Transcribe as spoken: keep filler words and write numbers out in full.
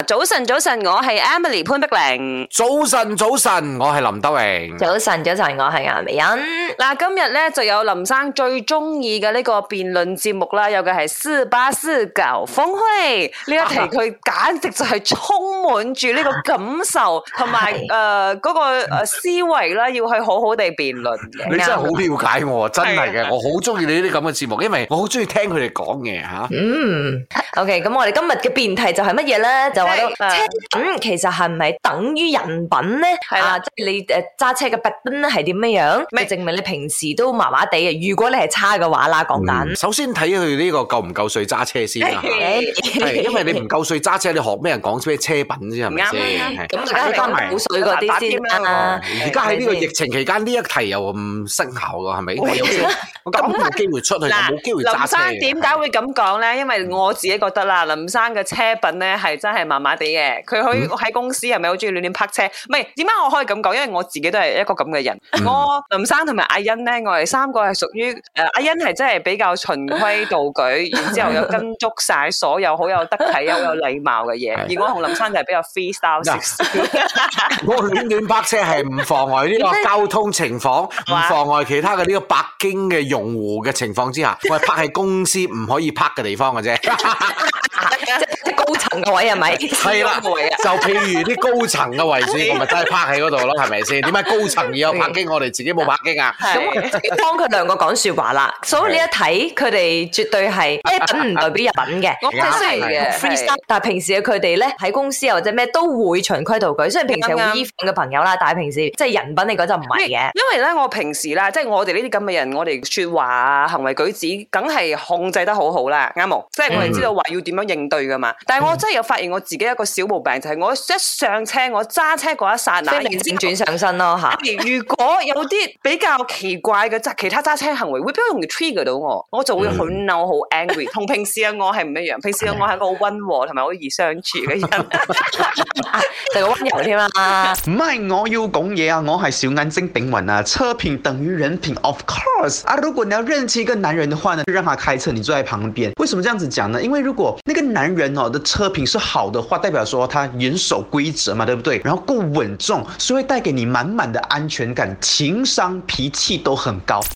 早晨，早晨，我係 Emily 潘碧玲。 早晨，早晨，我係林德榮。 早晨，早晨，我係顏美欣。 嗱，今日咧就有林生最中意嘅呢個辯論節目啦，有嘅係四八四搞峰會呢一題，佢簡直就係充滿住呢個感受同埋誒嗰個誒思維啦，要去好好地辯論嘅。 你真係好了解我，真係嘅，我好中意你呢啲咁嘅節目，因為我好中意聽佢哋講嘢吓。 嗯 ，OK， 咁我哋今日嘅辯題就係乜嘢咧？就話到車品其實係唔係等於人品咧？係啦，即係你誒揸車嘅品係點樣樣？就證明你平時都麻麻地嘅。如果你係差嘅話啦，講緊。 首先睇佢呢個夠唔夠歲揸車先啦。係，因為你唔夠歲揸車，你學咩人講咩車品先係咪先？ 咁而家係夠歲嗰啲先啦。 而家喺呢個疫情期間，呢一題又唔生效㗎，係咪？我咁冇機會出去，我冇機會揸車。 林生點解會咁講咧？因為我自己覺得啦，林生嘅車品咧係真係麻麻地嘅。佢可以喺公司係咪好中意亂亂泊車？唔係，點解我可以咁講？因為我自己都係一個咁嘅人。嗯、我林生同埋阿欣咧，我哋三個係屬於誒，阿欣係真係比較循規蹈矩，然之後又跟足晒所有好有得體、又有禮貌嘅嘢。而我同林生就係比較 freestyle 少少。 我亂亂泊車係唔妨礙呢個交通情況，唔妨礙其他嘅呢個北京嘅用戶嘅情況之下，我係泊喺公司唔可以泊嘅地方嘅啫。 即係高層嘅位係咪？ 係啦，就譬如啲高層嘅位置，我咪真係泊喺嗰度咯，係咪先？點解高層要有泊機，我哋自己冇泊機啊？ 咁幫佢兩個講説話啦。所以你一睇佢哋絕對係車品唔代表人品嘅。即係雖然 freestyle，但係平時嘅佢哋咧喺公司或者咩都會循規蹈矩。雖然平時係會衣服嘅朋友啦，但係平時即係人品嚟講就唔係嘅。 因為咧，我平時啦，即係我哋呢啲咁嘅人，我哋説話啊、行為舉止，梗係控制得好好啦，啱冇？即係我哋知道話要點樣應對噶嘛。但係我真係有發現我自己一個小毛病，就係、是、我一上車，我揸車嗰一剎那， 即係轉上身咯嚇。 如果有啲比較奇怪嘅其他揸車行為，會比較容易 trigger 到我，我就會好嬲、好 angry。同平時嘅我係唔一樣，平時嘅我係一個好溫和同埋好易相處嘅人，就個溫柔添啦。 唔係我要講嘢啊，我係小眼睛炳雲啊。車品等於人品 ，of course 啊。如果你要認識一個男人的話呢，就讓他開車，你坐在旁邊。為什麼這樣子講呢？因為如果那個男人哦的車品是好的話，代表說他嚴守規則嘛，對不對？然後夠穩重，所以會帶給你滿滿的安全感，情商、脾氣都很高。